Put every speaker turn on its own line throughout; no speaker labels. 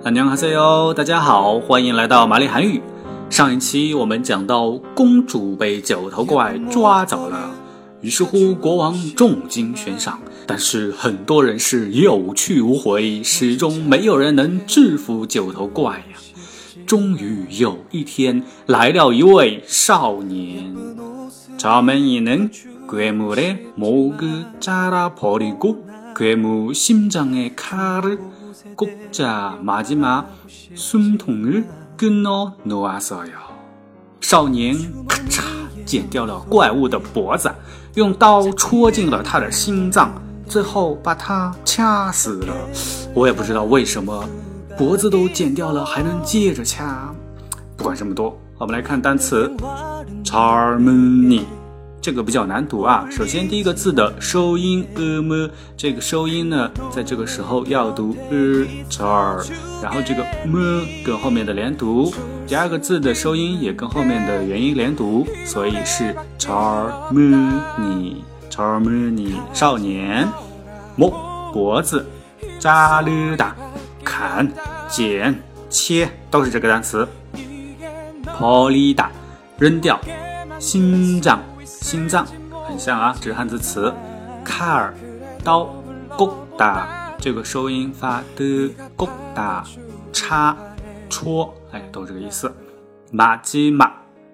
안녕하세요，大家好，欢迎来到玛丽韩语。上一期我们讲到公主被九头怪抓走了，于是乎国王重金悬赏，但是很多人是有去无回，始终没有人能制服九头怪呀。终于有一天，来了一位少年，처음에는 괴물의 목을 잘라버리고 괴물 심장에 칼을 꽂자 마지막 숨통을 끊어 놓았어요。少年咔嚓剪掉了怪物的脖子，用刀戳进了他的心脏，最后把他掐死了。我也不知道为什么脖子都剪掉了还能接着掐。不管这么多，我们来看单词 Charmony， 这个比较难读啊。首先第一个字的收音么，这个收音呢在这个时候要读char， 然后这个么跟后面的连读，第二个字的收音也跟后面的元音连读，所以是 Charmony。 少年，목脖子，자르다砍剪切都是这个单词。버리다扔掉，心脏很像啊，这是汉字词。칼刀，꽂다这个收音发的，꽂다插戳，都这个意思。마지막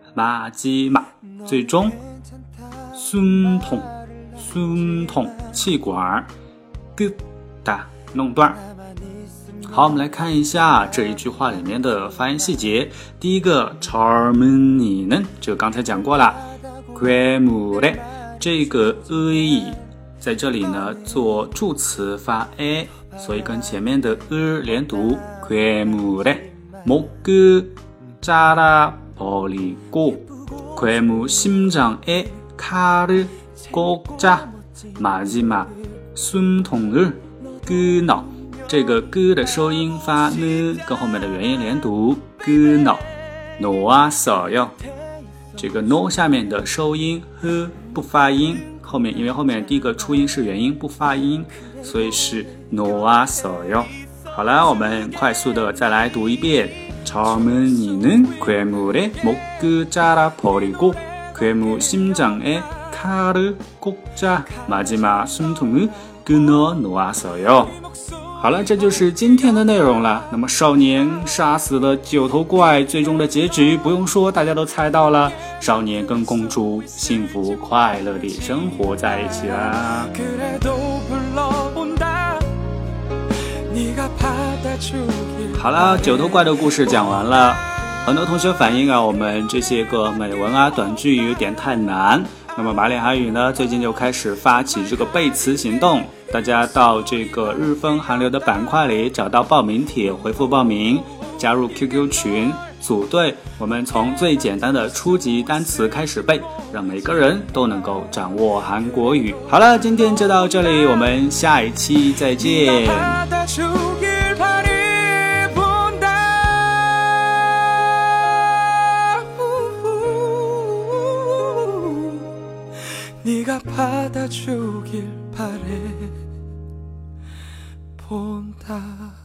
最终。숨통气管，끄다弄断。好，我们来看一下这一句话里面的发音细节。第一个 Charmony는 这个刚才讲过了， 괴물의 这个 의 在这里呢做助词发 a， 所以跟前面的连读。 괴물의 목을 잘라버리고 괴물 심장에 칼을 꽂자 마지막 숨통을 끊어，这个歌的收音发呢，跟后面的元音连读。끊어 놓았어요，这个 no 下面的收音呵不发音，因为后面第一个出音是元音不发音，所以是 놓았어요。好了，我们快速的再来读一遍。처음에는 괴물의 목을 잘라버리고 괴물 심장에 칼을 꽂자 마지막 숨통을 끊어 놓았어요。好了，这就是今天的内容了。那么少年杀死了九头怪，最终的结局不用说，大家都猜到了。少年跟公主幸福快乐地生活在一起啦。好了，九头怪的故事讲完了。很多同学反映我们这些个美文短句有点太难。那么玛丽韩语呢，最近就开始发起这个背词行动，大家到这个日分韩流的板块里找到报名帖，回复报名，加入 QQ 群，组队，我们从最简单的初级单词开始背，让每个人都能够掌握韩国语。好了，今天就到这里，我们下一期再见。네가 받아주길 바래 본다